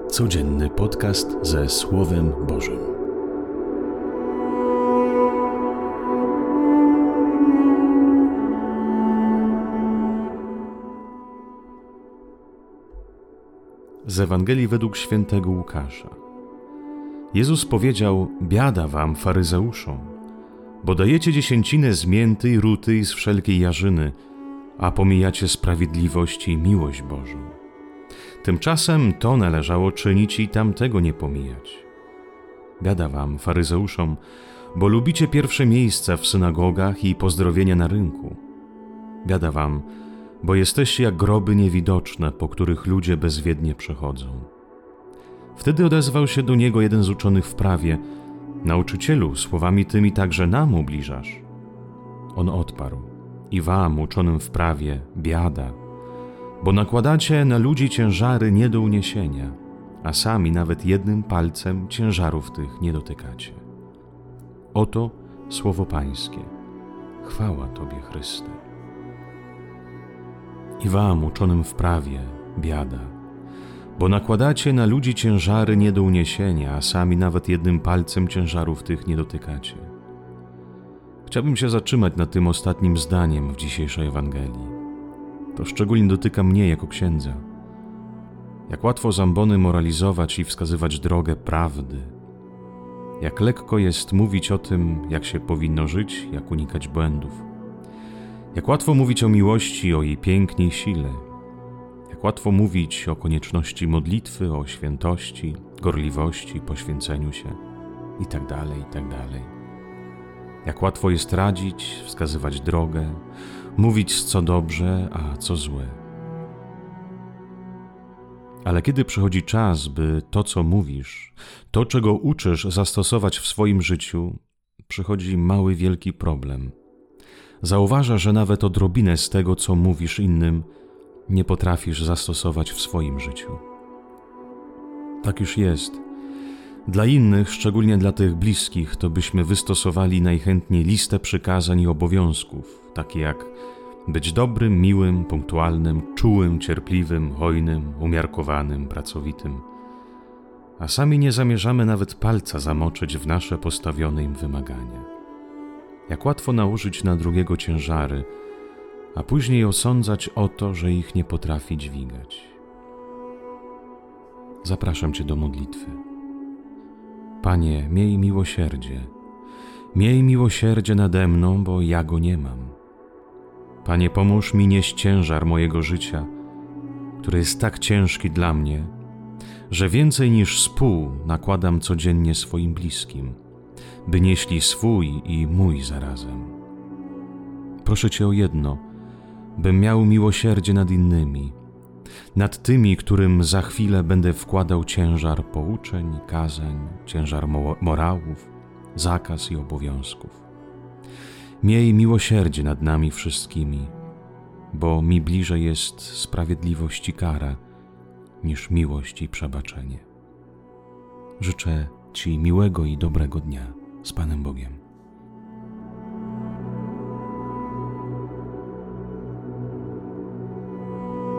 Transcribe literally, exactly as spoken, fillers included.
Codzienny podcast ze Słowem Bożym. Z Ewangelii według świętego Łukasza. Jezus powiedział: biada wam, faryzeuszom, bo dajecie dziesięcinę z mięty i ruty i z wszelkiej jarzyny, a pomijacie sprawiedliwość i miłość Bożą. Tymczasem to należało czynić i tamtego nie pomijać. Biada wam, faryzeuszom, bo lubicie pierwsze miejsca w synagogach i pozdrowienia na rynku. Biada wam, bo jesteście jak groby niewidoczne, po których ludzie bezwiednie przechodzą. Wtedy odezwał się do niego jeden z uczonych w prawie: Nauczycielu, słowami tymi także nam ubliżasz. On odparł: i wam, uczonym w prawie, biada, bo nakładacie na ludzi ciężary nie do uniesienia, a sami nawet jednym palcem ciężarów tych nie dotykacie. Oto słowo Pańskie. Chwała Tobie, Chryste. I wam, uczonym w prawie, biada, bo nakładacie na ludzi ciężary nie do uniesienia, a sami nawet jednym palcem ciężarów tych nie dotykacie. Chciałbym się zatrzymać nad tym ostatnim zdaniem w dzisiejszej Ewangelii. To szczególnie dotyka mnie jako księdza. Jak łatwo z ambony moralizować i wskazywać drogę prawdy. Jak lekko jest mówić o tym, jak się powinno żyć, jak unikać błędów. Jak łatwo mówić o miłości, o jej pięknie i sile. Jak łatwo mówić o konieczności modlitwy, o świętości, gorliwości, poświęceniu się i tak dalej, i tak dalej. Jak łatwo jest radzić, wskazywać drogę, mówić co dobrze, a co złe. Ale kiedy przychodzi czas, by to, co mówisz, to, czego uczysz, zastosować w swoim życiu, przychodzi mały, wielki problem. Zauważasz, że nawet odrobinę z tego, co mówisz innym, nie potrafisz zastosować w swoim życiu. Tak już jest. Dla innych, szczególnie dla tych bliskich, to byśmy wystosowali najchętniej listę przykazań i obowiązków, takie jak być dobrym, miłym, punktualnym, czułym, cierpliwym, hojnym, umiarkowanym, pracowitym. A sami nie zamierzamy nawet palca zamoczyć w nasze postawione im wymagania. Jak łatwo nałożyć na drugiego ciężary, a później osądzać o to, że ich nie potrafi dźwigać. Zapraszam Cię do modlitwy. Panie, miej miłosierdzie. Miej miłosierdzie nade mną, bo ja go nie mam. Panie, pomóż mi nieść ciężar mojego życia, który jest tak ciężki dla mnie, że więcej niż z pół nakładam codziennie swoim bliskim, by nieśli swój i mój zarazem. Proszę Cię o jedno, bym miał miłosierdzie nad innymi, nad tymi, którym za chwilę będę wkładał ciężar pouczeń, kazań, ciężar morałów, zakaz i obowiązków. Miej miłosierdzie nad nami wszystkimi, bo mi bliżej jest sprawiedliwość i kara, niż miłość i przebaczenie. Życzę Ci miłego i dobrego dnia z Panem Bogiem.